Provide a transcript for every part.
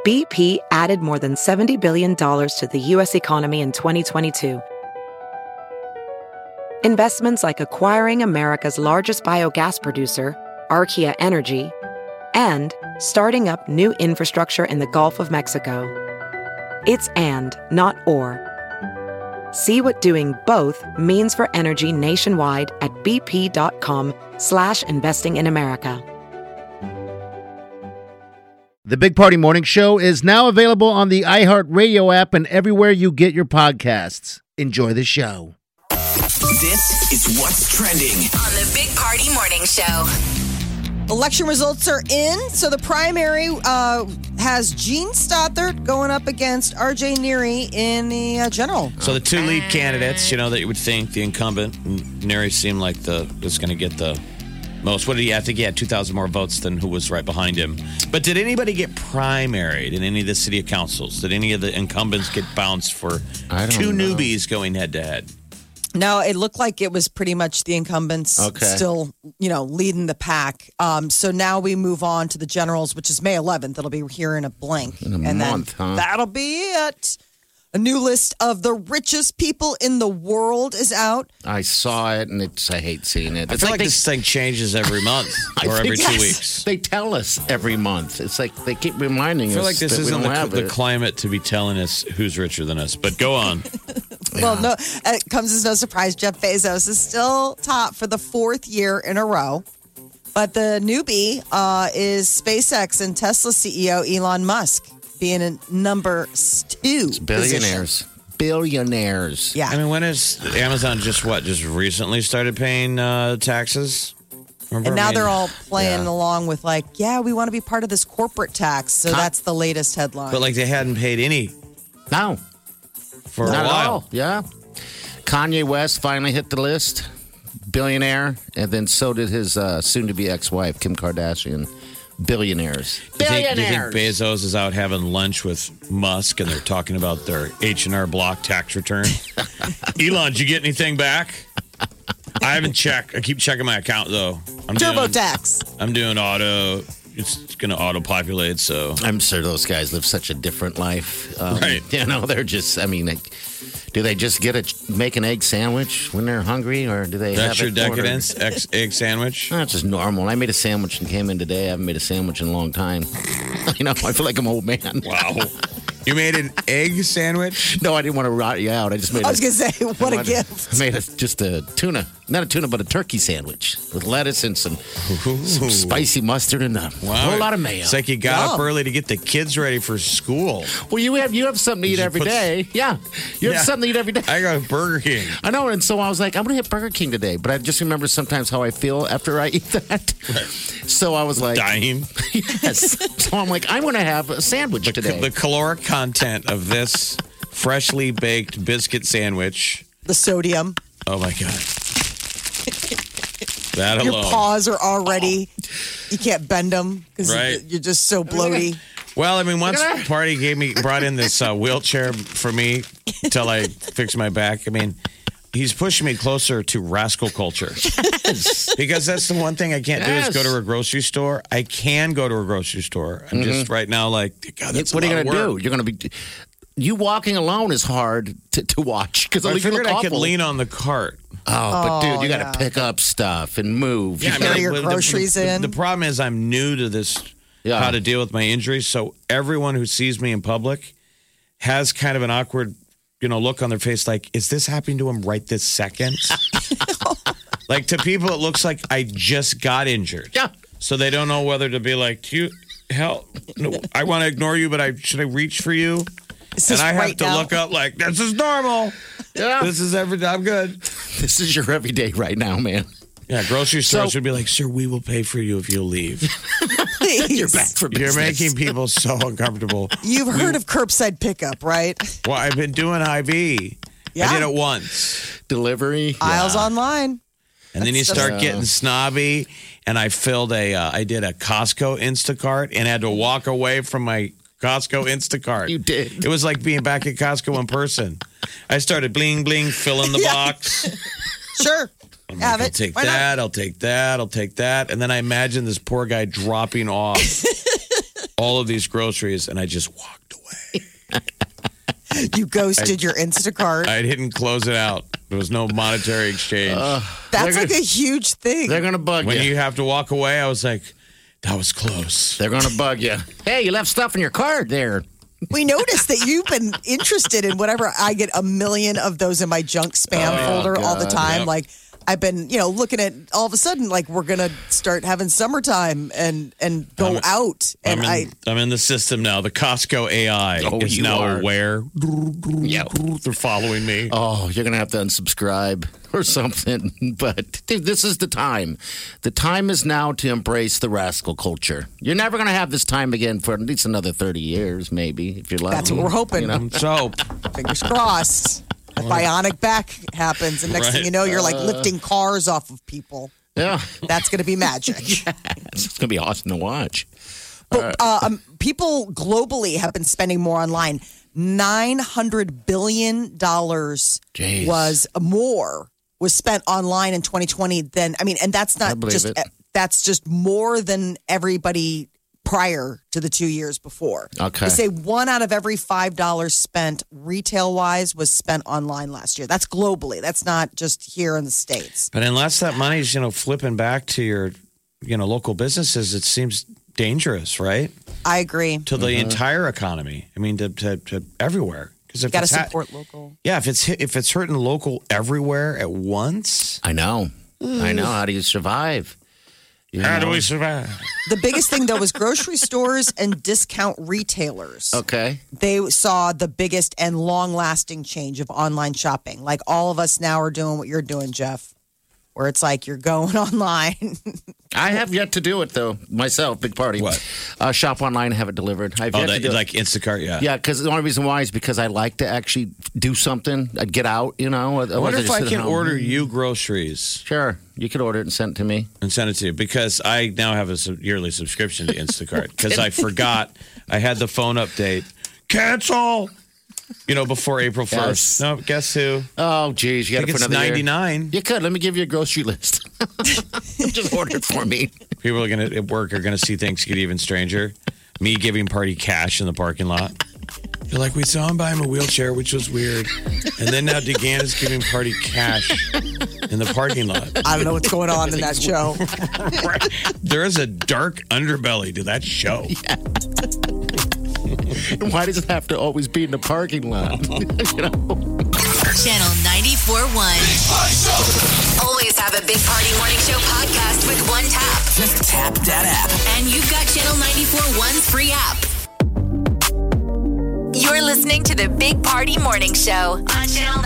BP added more than $70 billion to the U.S. economy in 2022. Investments like acquiring America's largest biogas producer, Archaea Energy, and starting up new infrastructure in the Gulf of Mexico. It's and, not or. See what doing both means for energy nationwide at bp.com/investing in America. The Big Party Morning Show is now available on the iHeartRadio app and everywhere you get your podcasts. Enjoy the show. This is what's trending on the Big Party Morning Show. Election results are in. So the primary has Gene Stothert going up against R.J. Neary in the general. So the two lead candidates, that you would think, the incumbent, Neary seemed like was going to get the most. What did he have? I think he had 2,000 more votes than who was right behind him. But did anybody get primaried in any of the city councils? Did any of the incumbents get bounced for two newbies going head-to-head? No, it looked like it was pretty much the incumbents still, leading the pack. So now we move on to the generals, which is May 11th. It'll be here in a blink. In a month, huh? That'll be it. A new list of the richest people in the world is out. I saw it, and I hate seeing it. I feel like this thing changes every month or every 2 weeks. They tell us every month. It's like they keep reminding us. I feel like this that isn't we don't have the it. climate to be telling us who's richer than us. But go on. Well, no, it comes as no surprise. Jeff Bezos is still top for the fourth year in a row. But the newbie is SpaceX and Tesla CEO Elon Musk being in number 2. It's billionaires. Position. Billionaires. Yeah. I mean, when is Amazon just recently started paying taxes? Remember? And now they're all playing along with we want to be part of this corporate tax. So that's the latest headline. But they hadn't paid any. No. For Not a at while. all. Yeah. Kanye West finally hit the list. Billionaire. And then so did his soon-to-be ex-wife, Kim Kardashian. Billionaires. Do you think Bezos is out having lunch with Musk and they're talking about their H&R Block tax return? Elon, did you get anything back? I haven't checked. I keep checking my account, though. TurboTax. I'm doing auto. It's going to auto-populate, so. I'm sure those guys live such a different life. Right. They're just, do they just make an egg sandwich when they're hungry, or do they That's have your decadence? Egg sandwich? That's just normal. I made a sandwich and came in today. I haven't made a sandwich in a long time. I feel like I'm an old man. Wow. You made an egg sandwich? No, I didn't want to rot you out. I just made I was going to say, what a gift. I made just a tuna. Not a tuna, but a turkey sandwich with lettuce and some spicy mustard and a whole lot of mayo. It's like you got up early to get the kids ready for school. Well, you have something to eat every day. Yeah. You have something to eat every day. I go to Burger King. I know, and so I was like, I'm going to hit Burger King today. But I just remember sometimes how I feel after I eat that. Right. So I was like... Dying? Yes. So I'm like, I'm going to have a sandwich today. The caloric content of this freshly baked biscuit sandwich. The sodium. Oh, my God. That alone. Your paws are already... You can't bend them because you're just so bloaty. Well, once Party brought in this wheelchair for me till I fixed my back. He's pushing me closer to rascal culture. Yes. Because that's the one thing I can't do is go to a grocery store. I can go to a grocery store. I'm just right now God, that's what are you going to do? You're going to be... You walking alone is hard to watch. Because I figured I could lean on the cart. Oh, but dude, you got to pick up stuff and move. Yeah, carry your groceries in. The problem is I'm new to this, how to deal with my injuries. So everyone who sees me in public has kind of an awkward, look on their face like, is this happening to him right this second? To people, it looks like I just got injured. Yeah. So they don't know whether to be like, do you help? No, I want to ignore you, but should I reach for you? And I have to look up like, this is normal. Yeah. This is I'm good. This is your everyday right now, man. Yeah, grocery stores would be like, sir, we will pay for you if you'll leave. Please. You're back for business. You're making people so uncomfortable. You've heard of curbside pickup, right? Well, I've been doing IV. Yeah. I did it once. Delivery. Aisles online. And then you start getting snobby. And I did a Costco Instacart and had to walk away from my Costco Instacart. You did. It was like being back at Costco in person. I started bling, bling, filling the box. Sure. I'll take that. I'll take that. I'll take that. And then I imagine this poor guy dropping off all of these groceries, and I just walked away. You ghosted your Instacart. I didn't close it out. There was no monetary exchange. That's like a huge thing. They're going to bug When you. you have to walk away, I was like, that was close. They're going to bug you. Hey, you left stuff in your cart there. We noticed that you've been interested in whatever. I get a million of those in my junk spam folder all the time. Yep. Like I've been, looking at all of a sudden, like we're gonna start having summertime and go out. And I'm in the system now. The Costco AI Oh, is you now are. aware. Yeah. They're following me. Oh, you're going to have to unsubscribe or something. But dude, this is the time. The time is now to embrace the rascal culture. You're never going to have this time again for at least another 30 years, maybe, if you're lucky. That's what we're hoping. So, Fingers crossed. A bionic back happens, and next thing you know, you're like lifting cars off of people. Yeah. That's going to be magic. It's going to be awesome to watch. But people globally have been spending more online. $900 billion was spent online in 2020 than, and that's I not believe just, it. that's just more than everybody prior to the 2 years before. Okay. They say 1 out of every $5 spent retail-wise was spent online last year. That's globally. That's not just here in the States. but unless that money's, flipping back to your, local businesses, it seems dangerous, right? I agree. To the entire economy. I mean, to everywhere. Because if Got to it's support local. yeah, if it's hurting local everywhere at once, I know. How do you survive? how do we survive? The biggest thing, though, was grocery stores and discount retailers. Okay. They saw the biggest and long-lasting change of online shopping. Like all of us now are doing what you're doing, Jeff, where it's like you're going online. I have yet to do it, though, myself. Big party. What? Shop online, have it delivered. I've yet to do it. Like Instacart, yeah. Yeah, because the only reason why is because I like to actually do something. I'd get out, I wonder if I can order you groceries Sure. You could order it and send it to me. and send it to you because I now have a yearly subscription to Instacart because I forgot I had the phone update. Cancel! Before April 1st. Yes. No, guess who? Oh, geez. You I got think it for it's another year. $99. You could. Let me give you a grocery list. Just order it for me. People are at work are gonna see things get even stranger. Me giving Party cash in the parking lot. They're like, we saw him buy him a wheelchair, which was weird. And then now DeGan is giving Party cash in the parking lot. I don't know what's going on in that show. There is a dark underbelly to that show. Why does it have to always be in the parking lot? Channel 94.1. Always have a Big Party Morning Show podcast with one tap. Just tap that app. And you've got Channel 94.1's free app. You're listening to the Big Party Morning Show on Channel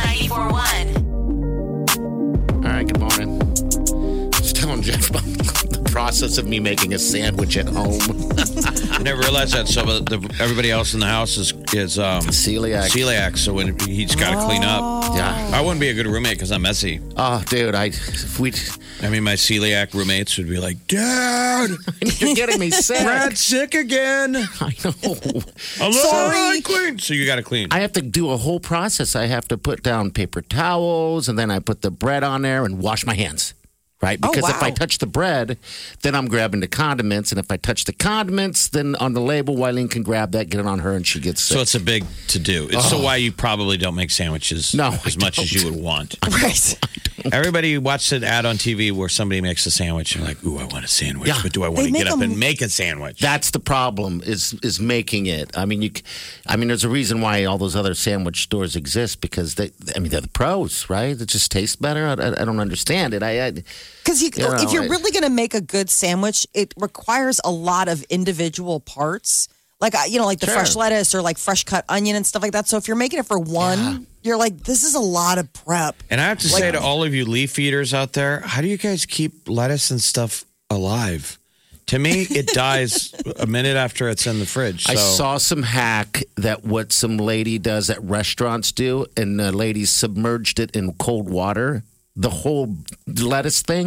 94.1. All right, good morning. Just telling Jeff about the process of me making a sandwich at home. I never realized that. So everybody else in the house is Celiac. celiac. So when he's got to clean up. Yeah. I wouldn't be a good roommate because I'm messy. Oh, dude, my celiac roommates would be like, Dad, you're getting me sick. Brad's sick again. I know. Sorry. Clean. So you got to clean. I have to do a whole process. I have to put down paper towels, and then I put the bread on there and wash my hands. Right? Because if I touch the bread, then I'm grabbing the condiments. And if I touch the condiments, then on the label, Wileen can grab that, get it on her, and she gets sick. So it's a big to-do. It's so why you probably don't make sandwiches as much as you would want. Right. Everybody watched an ad on TV where somebody makes a sandwich. And like, ooh, I want a sandwich. Yeah. But do I want to get up and make a sandwich? That's the problem is making it. I mean, there's a reason why all those other sandwich stores exist because they're the pros, right? It just tastes better. I don't understand it. Because if you're really going to make a good sandwich, it requires a lot of individual parts. Like, the fresh lettuce or like fresh cut onion and stuff like that. So if you're making it for one, you're like, this is a lot of prep. And I have to say to all of you leaf eaters out there, how do you guys keep lettuce and stuff alive? To me, it dies a minute after it's in the fridge. So. I saw some hack that what some lady does at restaurants do, and the lady submerged it in cold water, the whole lettuce thing.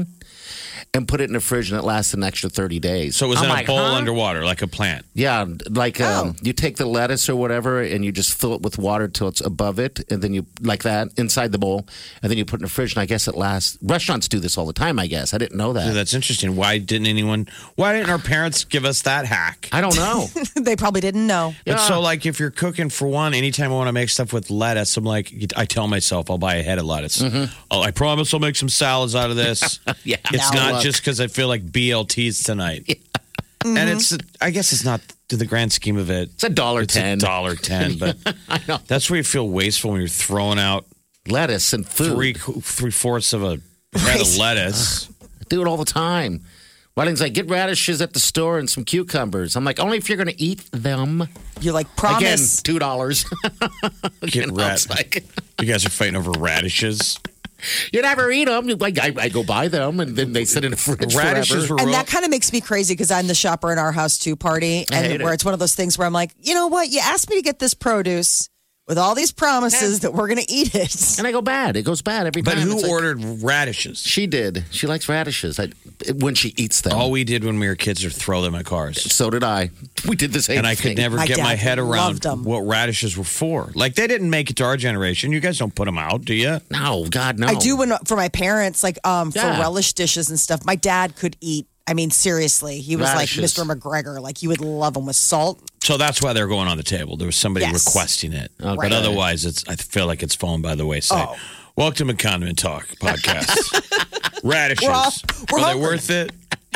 and put it in the fridge, and it lasts an extra 30 days. So it was I'm in a like, bowl huh? underwater, like a plant. Yeah, like you take the lettuce or whatever, and you just fill it with water till it's above it, and then you like that inside the bowl, and then you put it in the fridge. And I guess it lasts. Restaurants do this all the time. I guess I didn't know that. Yeah, that's interesting. Why didn't our parents give us that hack? I don't know. They probably didn't know. But so, like, if you're cooking for one, anytime I want to make stuff with lettuce, I'm like, I tell myself I'll buy a head of lettuce. Oh, I promise I'll make some salads out of this. Yeah. It's Now not look. just because I feel like BLTs tonight. And I guess it's not to the grand scheme of it. It's $1.10. It's $1.10, but I know. that's where you feel wasteful when you're throwing out Lettuce and food. three-fourths of a head of lettuce. I do it all the time. Weddings, like, get radishes at the store and some cucumbers. I'm like, only if you're going to eat them. You're like, Again, promise. Get You know, it's like- You guys are fighting over radishes. You never eat them. I go buy them, and then they sit in the fridge Radishes forever. were And real. that kind of makes me crazy because I'm the shopper in our house too party. I hate And where it. it's one of those things where I'm like, you know what? You asked me to get this produce with all these promises that we're going to eat it. And I go bad. It goes bad every But time. who It's like- ordered radishes? She did. She likes radishes when she eats them. All we did when we were kids was throw them at cars. So did I. We did the same And I thing. could never My get my dad head loved around 'em. what radishes were for. Like, they didn't make it to our generation. You guys don't put them out, do you? No, God, no. I do for my parents, like for Yeah. relish dishes and stuff. My dad could eat. I mean, seriously, he was Radishes. like Mr. McGregor. Like, you would love them with salt. So that's why they're going on the table. There was somebody Yes. requesting it. Okay. But otherwise, I feel like it's fallen by the wayside. Oh. Welcome to Condiment Talk podcast. Radishes. We're Are they hungry. worth it?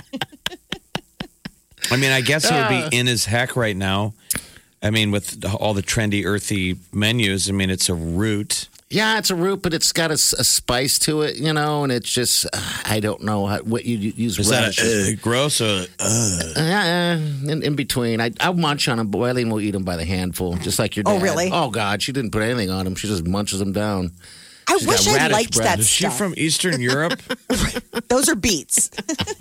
I mean, I guess it would be in as heck right now. I mean, with all the trendy, earthy menus, I mean, it's a root. Yeah, it's a root, but it's got a spice to it, you know, and it's just, I don't know what you use. Is that radishes. gross or in between. I'll munch on them, but Eileen will eat them by the handful, just like your dad. Oh, really? Oh, God, she didn't put anything on them. She just munches them down. I She's wish got I radish liked bread. that is she stuff. from Eastern Europe? Those are beets.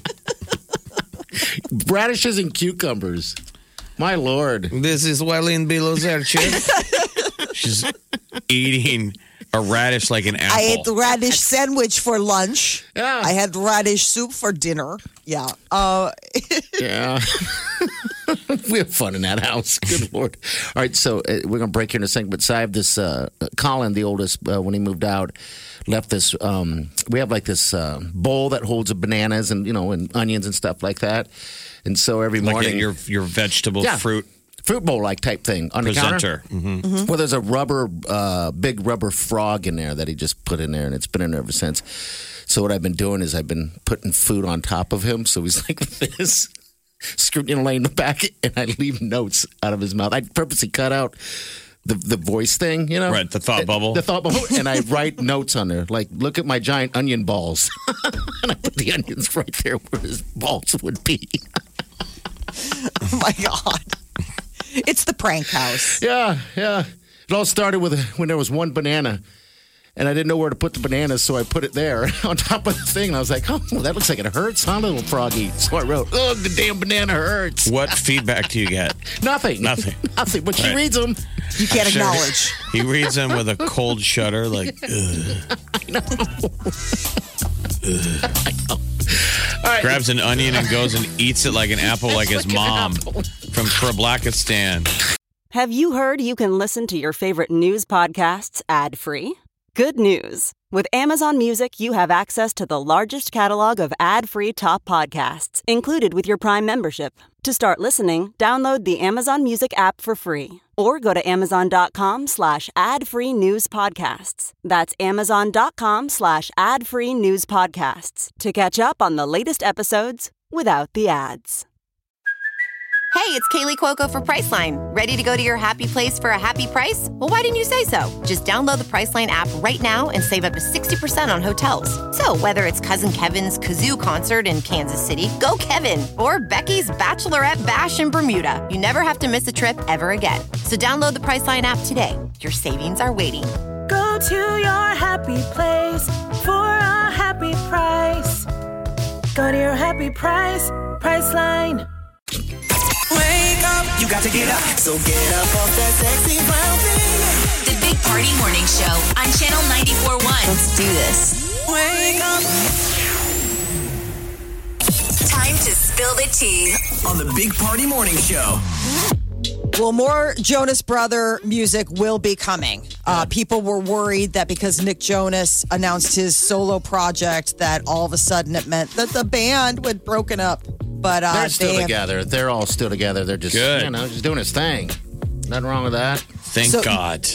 Radishes and cucumbers. My Lord. This is Wileen Bilozerche. She's eating a radish like an apple. I ate the radish sandwich for lunch. Yeah. I had radish soup for dinner. Yeah. Yeah. We have fun in that house. Good Lord. All right, so we're going to break here in a second. But so I have this, Colin, the oldest, when he moved out, left this, we have like this bowl that holds bananas and, and onions and stuff like that. And so every like morning. your vegetable fruit bowl like type thing on the presenter. counter. Well, there's a big rubber frog in there that he just put in there, and it's been in there ever since. So what I've been doing is I've been putting food on top of him, so he's like this, laying the back, and I leave notes out of his mouth. I purposely cut out the voice thing, Right, the thought bubble. the thought bubble, and I write notes on there, like look at my giant onion balls, and I put the onions right there where his balls would be. Oh my God. It's the prank house. Yeah. It all started with when there was one banana, and I didn't know where to put the banana, so I put it there on top of the thing. And I was like, oh, that looks like it hurts, huh, little froggy? So I wrote, oh, the damn banana hurts. What feedback do you get? Nothing. Nothing. Nothing. But she Right. reads them. You can't Sure. acknowledge. He reads them with a cold shudder, like, ugh. All right. Grabs an onion and goes and eats it like an apple, like his mom from Blackistan. Have you heard you can listen to your favorite news podcasts ad-free? Good news. With Amazon Music, you have access to the largest catalog of ad-free top podcasts included with your Prime membership. To start listening, download the Amazon Music app for free or go to amazon.com/ad-free news podcasts. That's amazon.com/ad-free news podcasts to catch up on the latest episodes without the ads. Hey, it's Kaylee Cuoco for Priceline. Ready to go to your happy place for a happy price? Well, why didn't you say so? Just download the Priceline app right now and save up to 60% on hotels. So whether it's Cousin Kevin's Kazoo concert in Kansas City, go Kevin, or Becky's Bachelorette Bash in Bermuda, you never have to miss a trip ever again. So download the Priceline app today. Your savings are waiting. Go to your happy place for a happy price. Go to your happy price, Priceline. Wake up, you got to get up. So get up off that sexy brown thing. The Big Party Morning Show on Channel 94.1. Let's do this. Wake up. Time to spill the tea. On the Big Party Morning Show. Well, more Jonas Brother music will be coming. People were worried that because Nick Jonas announced his solo project, that all of a sudden it meant that the band would broken up. But they're still together. They're all still together. They're just, Good. just doing his thing. Nothing wrong with that. Thank God.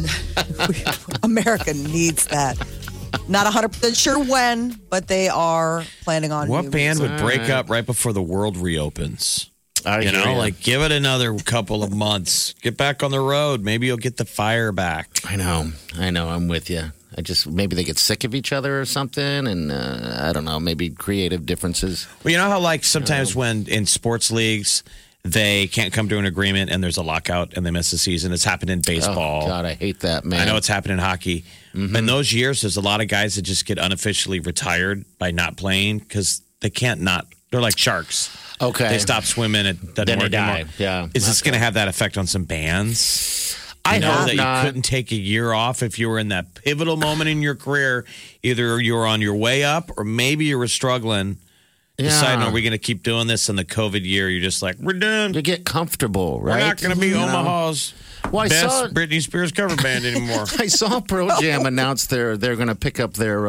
America needs that. Not 100% sure when, but they are planning on. What band music. would break up right before the world reopens? I You hear know, ya. like give it another couple of months. Get back on the road. Maybe you'll get the fire back. I know. I'm with you. Maybe they get sick of each other or something, and I don't know, maybe creative differences. Well, you know how like sometimes when in sports leagues they can't come to an agreement and there's a lockout and they miss the season. It's happened in baseball. Oh, God, I hate that, man. I know it's happened in hockey. In those years, there's a lot of guys that just get unofficially retired by not playing because they can't not. They're like sharks. Okay. They stop swimming. It doesn't Then they work die. anymore. Yeah. Is this going to have that effect on some bands? I know hope that not. you couldn't take a year off if you were in that pivotal moment in your career. Either you were on your way up or maybe you were struggling. Deciding, are we going to keep doing this in the COVID year? You're just like, we're done. You get comfortable, right? We're not going to be Omaha's Well, I best saw- Britney Spears cover band anymore. I saw Pearl Jam announce they're going to pick up their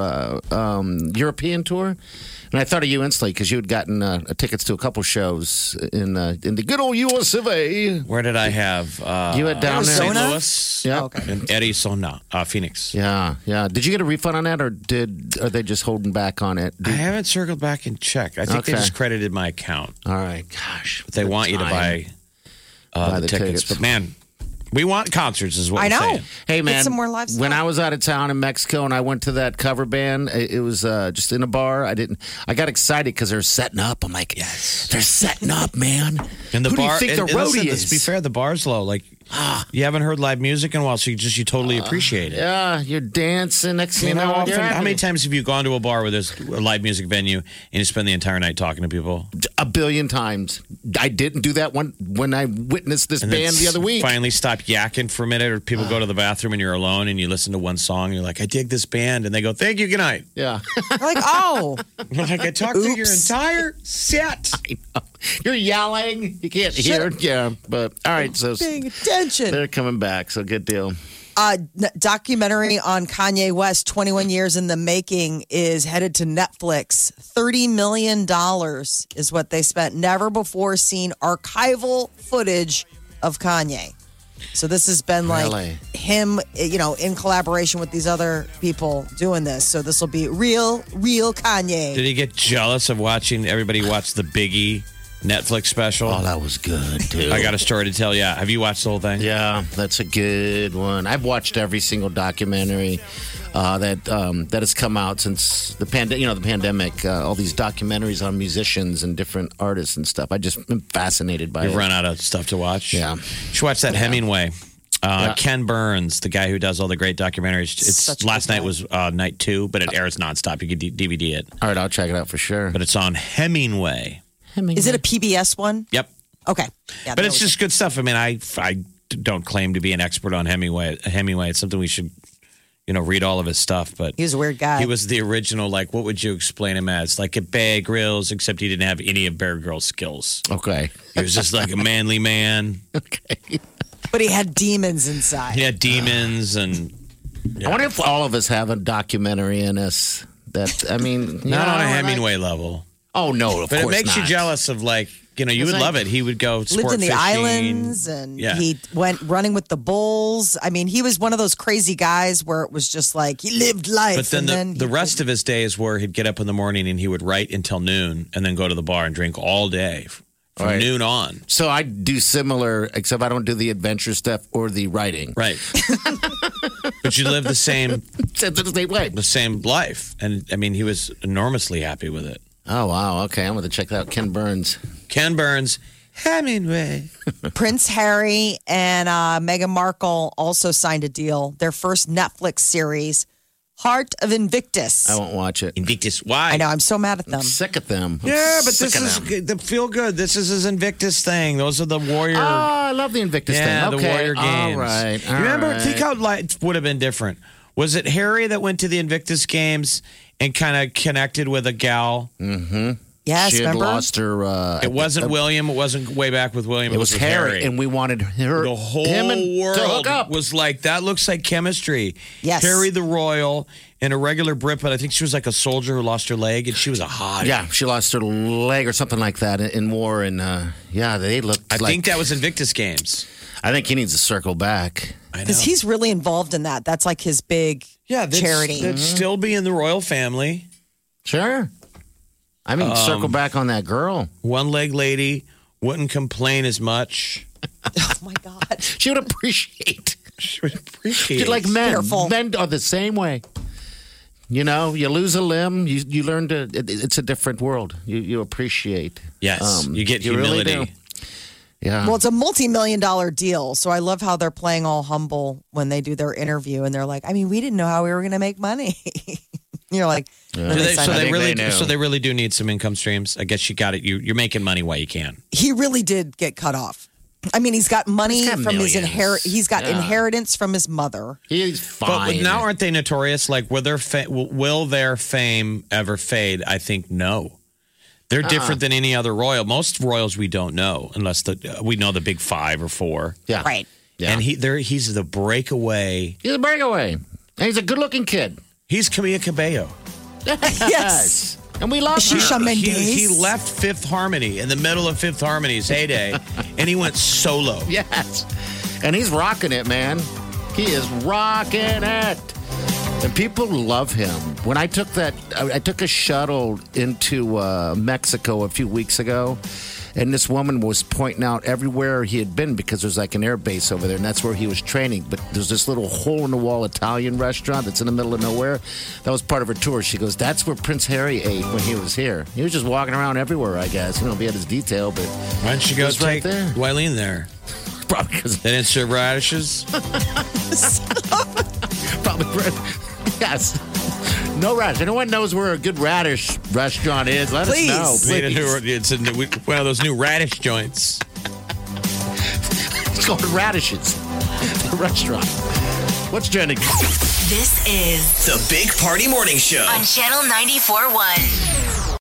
European tour, and I thought of you instantly because you had gotten tickets to a couple shows in the good old US of A. Where did I have? You had down there. St. Arizona? Louis. Yeah. Oh, okay. And Arizona, Phoenix. Yeah. Did you get a refund on that, or are they just holding back on it? I haven't circled back and checked. I think they Okay. just credited my account. All right, gosh, But they want you to buy, the tickets. But man, we want concerts, is what I we're know. saying. Hey man, Get some more live stuff. when I was out of town in Mexico and I went to that cover band, it was just in a bar. I got excited because they're setting up. I'm like, yes, they're setting up, man. And the Who bar, do you think the and listen, roadie let's be is? fair, the bar's low. Like, you haven't heard live music in a while, so you totally appreciate it. Yeah, you're dancing. Next I thing mean, you know, how you're many having times have you gone to a bar where there's a live music venue and you spend the entire night talking to people? a billion times. I didn't do that one when I witnessed this And band then the other week. Finally stop yakking for a minute, or people go to the bathroom and you're alone and you listen to one song and you're like, I dig this band. And they go, thank you, good night. Yeah, You're like, oh, You're like, I talked to your Oops. entire set. you're yelling. You can't hear. Yeah, but all right. So paying attention. they're coming back. So good deal. Documentary on Kanye West, 21 years in the making, is headed to Netflix. $30 million is what they spent. Never before seen archival footage of Kanye. So this has been like Really? him, in collaboration with these other people doing this. So this will be real Kanye. Did he get jealous of watching everybody watch the Biggie Netflix special? Oh, that was good too. I got a story to tell you. Have you watched the whole thing? Yeah, that's a good one. I've watched every single documentary that has come out since the pandemic. All these documentaries on musicians and different artists and stuff. I just been fascinated by You've it. run out of stuff to watch? Yeah. You should watch that Hemingway. Yeah. Ken Burns, the guy who does all the great documentaries. Such a Last good night guy. was night 2, but it airs nonstop. You can DVD it. All right, I'll check it out for sure. But it's on Hemingway. Is it a PBS one? Yep. Okay. Yeah, But it's just good stuff. I mean, I don't claim to be an expert on Hemingway. It's something we should, read all of his stuff. But He was a weird guy. he was the original, like, what would you explain him as? Like a Bear Grylls, except he didn't have any of Bear Grylls' skills. Okay. He was just like a manly man. Okay. But he had demons inside. He had demons and I wonder if all of us have a documentary in us. That I mean, not on a Hemingway level. Oh no, of But it course makes you not. jealous of you would It's like- love it. He would go sport Lived in the fishing. islands and Yeah. he went running with the bulls. I mean, he was one of those crazy guys where it was just like he lived life. But then and the rest of his days where he'd get up in the morning and he would write until noon and then go to the bar and drink all day from Right. noon on. So I do similar, except I don't do the adventure stuff or the writing. Right. But you live the same way. the same life. And I mean, he was enormously happy with it. Oh wow, okay, I'm going to check that out. Ken Burns. Ken Burns, Hemingway. Prince Harry and Meghan Markle also signed a deal. Their first Netflix series, Heart of Invictus. I won't watch it. Invictus. Why? I know. I'm so mad at them. I'm sick of them. I'm Yeah, but sick this of is them. good. The feel good. This is his Invictus thing. Those are the warrior. Oh, I love the Invictus yeah, thing. the Okay, warrior games. All right. You remember? all Think right. how life would have been different. Was it Harry that went to the Invictus games and kind of connected with a gal? Yeah. Yes, she had remember? lost her. It wasn't William. It wasn't way back with William. It was Harry, and we wanted her. The whole him and, world to hook up. was like, that looks like chemistry. Yes. Harry the Royal and a regular Brit, but I think she was like a soldier who lost her leg, and she was a hottie. Yeah, she lost her leg or something like that in war, and they looked. I think that was Invictus Games. I think he needs to circle back. Because he's really involved in that. That's like his big charity. That'd still be in the royal family. Sure. I mean, circle back on that girl. One-leg lady wouldn't complain as much. Oh, my God. She would appreciate. She would appreciate. Like men. Careful. Men are the same way. You know, you lose a limb, you learn to, it's a different world. You appreciate. Yes, you get really humility. do. Yeah. Well, it's a multi-million-dollar deal, so I love how they're playing all humble when they do their interview, and they're like, I mean, we didn't know how we were going to make money. You're like, So they really do need some income streams. I guess you got it. You're making money while you can. he really did get cut off. I mean, he's got money He's got from his millions. He's got inheritance from his mother. He's fine. But now aren't they notorious? Like, will their fame ever fade? I think no. They're different than any other royal. Most royals we don't know unless we know the big 5 or 4. Yeah. Right. Yeah. And he's the breakaway. He's a breakaway. And he's a good-looking kid. He's Camila Cabello. Yes. And we love her. Shisha Mendes. He left Fifth Harmony in the middle of Fifth Harmony's heyday, and he went solo. Yes. And he's rocking it, man. He is rocking it. And people love him. When I took a shuttle into Mexico a few weeks ago, and this woman was pointing out everywhere he had been because there's like an air base over there, and that's where he was training. But there's this little hole-in-the-wall Italian restaurant that's in the middle of nowhere. That was part of her tour. She goes, that's where Prince Harry ate when he was here. He was just walking around everywhere, I guess. You know, he had his detail, but Why don't you go He's take right there. Wileen there? probably because They didn't serve radishes? yes. No radish. Anyone knows where a good radish restaurant is? Let Please. us know. It's one of those new radish joints. It's called Radishes, the restaurant. What's trending? This is The Big Party Morning Show. on Channel 94.1.